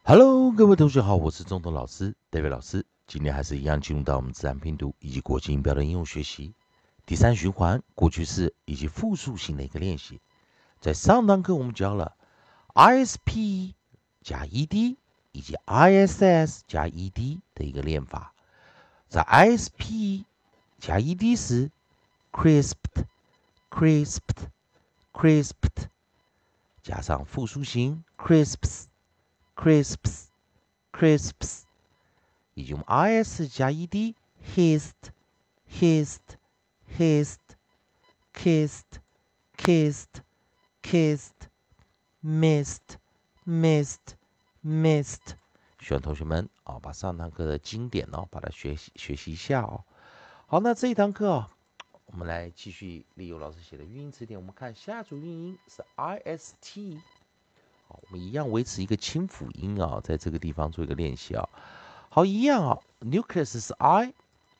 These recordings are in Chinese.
Hello，各位同学好，我是中东老师 David 老师。今天还是一样进入到我们自然拼读以及国际音标的应用学习第三循环过去式以及复数型的一个练习。在上堂课我们教了 ISP 加 ED 以及 ISS 加 ED 的一个练法。在 ISP 加 ED 时 crisped crisped crisped 加上复数型 crisps crisps crisps 以及我们 is 加 ed hissed hissed hissed kissed kissed kissed missed missed missed 希望同学们把上堂课的经典把它学习一下哦。好，那这一堂课我们来继续利用老师写的语音词典，我们看下组韵音是 ist。我们一样维持一个清辅音在这个地方做一个练习好，一样nucleus 是 I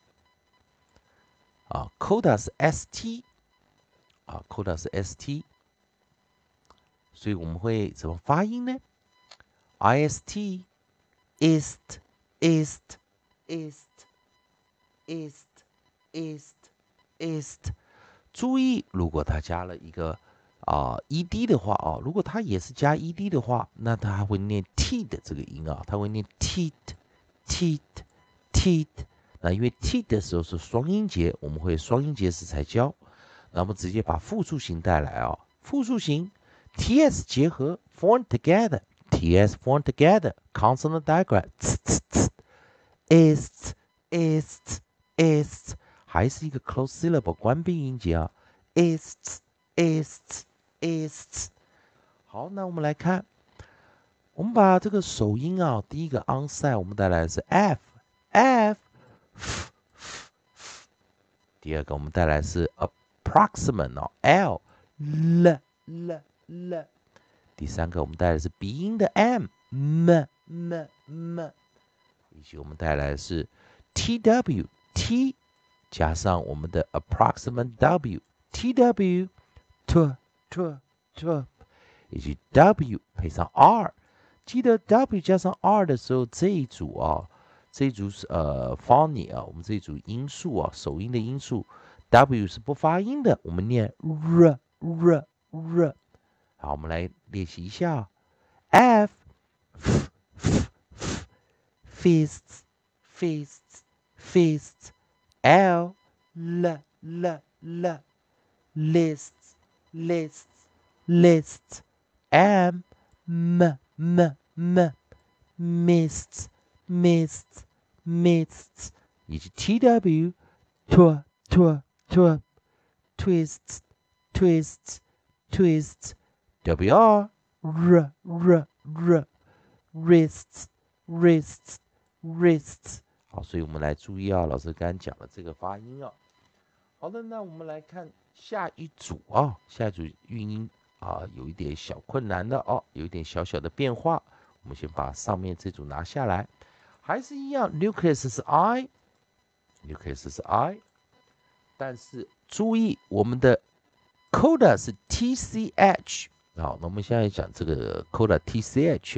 coda 是 st coda 是 st， 所以我们会怎么发音呢 ？ist ist ist ist ist ist ist， 注意，如果它加了一个ed 的话如果它也是加 ed 的话，那它还会念 t 的这个音它会念 teat teat teat。那因为 t 的时候是双音节，我们会双音节时才教。那我们直接把复数型带来复数型 ts 结合 form together ts form together consonant digraph ist ist ist， 还是一个 close syllable 关闭音节ist ist ist。 好，那我们来看，我们把这个首音第一个 onside 我们带来的是 f f， 第二个我们带来的是 approximate l l l l， 第三个我们带来的是鼻音的 m m m m， 以及我们带来的是 tw t 加上我们的 approximate w tw t t t， 以及 w 配上 r， 记得 w 加上 r 的时候，这一组是phony 我们这一组音素首音的音素 w 是不发音的，我们念 r r r。好，我们来练习一下f fists fists fists l l l l lists lists lists m m m m mists mists mists， 以及 tw tw tw tw twists twists twists wr r r r wrists wrists wrists。 好，所以我们来注意老师刚刚讲的这个发音好的，那我们来看下一组下一组韵音有一点小困难的有一点小小的变化。我们先把上面这组拿下来，还是一样 nucleus 是 I nucleus 是 I， 但是注意我们的 coda 是 tch。 好，那我们现在讲这个 coda tch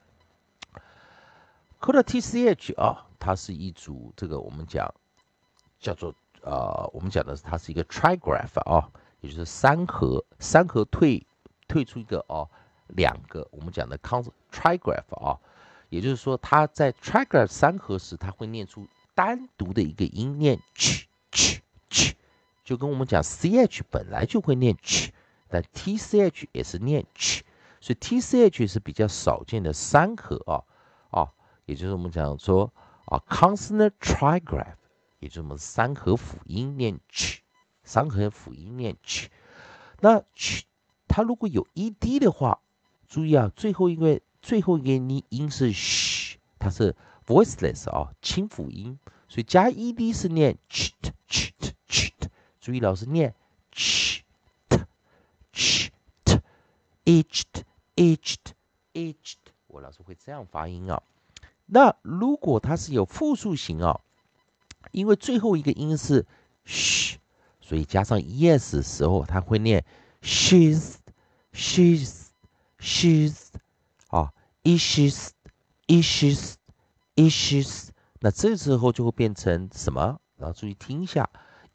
coda tch 它是一组这个我们讲叫做我们讲的它是一个 trigraph 也就是三合退出一个两个我们讲的 trigraph 也就是说它在 trigraph 三合时，它会念出单独的一个音，念 ch ch ch， 就跟我们讲 ch 本来就会念 ch， 但 tch 也是念 ch， 所以 tch 是比较少见的三合也就是我们讲说consonant trigraph， 也就是我们三合辅音念 ch， 三合辅音念 ch。 那 ch 它如果有 ed 的话，注意最后一个音是 sh， 它是 voiceless 清辅音，所以加 ed 是念 ch ch ch。 注意老师念 ch t ch t itched itched itched， 我老师会这样发音那如果它是有复数型因为最后一个音是 sh， 所以加上 es 的时候，它会念 she's she's she's issues issues，issues，那这时候就会变成什么？然后注意听一下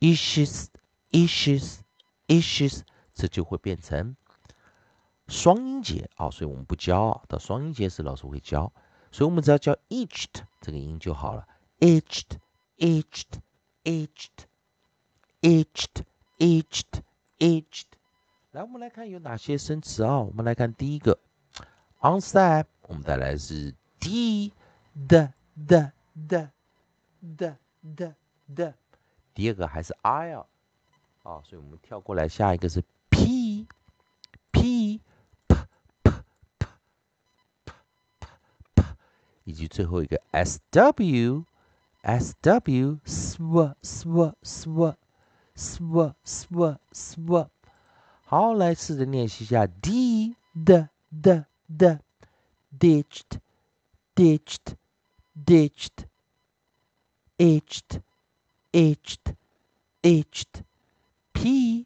，issues，issues，issues，这就会变成双音节啊，所以我们不教到双音节时老师会教，所以我们只要教 eached 这个音就好了 ，eached，eached，eached，eached，eached。来，我们来看有哪些生词啊？我们来看第一个 onset，我们带来是 d the，第二个还是 I 啊，所以我们跳过来，下一个是 p p， 以及最后一个 sw sw。好，来试着练习一下 d the ditched ditched ditched itched itched itched p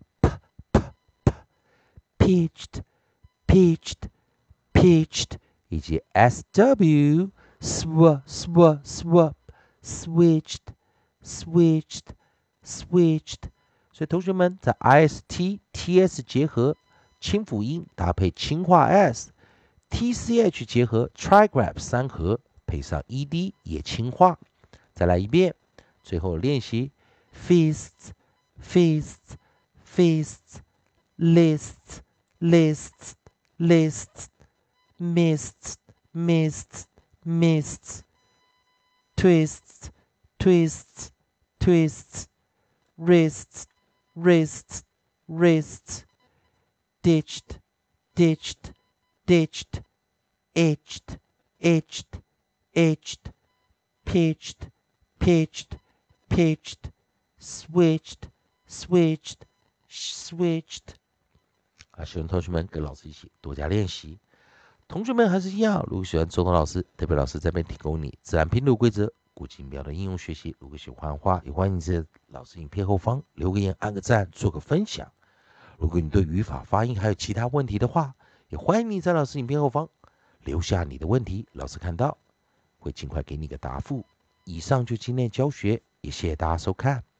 pitched pitched pitched 以及 sw switched switched switched。所以同学们在 ist、ts 结合清辅音搭配轻化 s，tch 结合 trigraph 三合配上 ed 也轻化。再来一遍，最后练习 feasts feasts feasts lists lists lists mists mists mists twists twists twists wrists wrists wrists ditched ditched ditched itched itched itched pitched pitched pitched switched switched switched。希望同学们跟老师一起多加练习。同学们还是一样，如果喜欢周东老师，特别老师这边提供你自然拼读规则、古今标的应用学习。如果喜欢的话，也欢迎在老师影片后方留个言、按个赞、做个分享。如果你对语法、发音还有其他问题的话，也欢迎你在老师影片后方留下你的问题，老师看到会尽快给你个答复。以上就今天教学，也谢谢大家收看。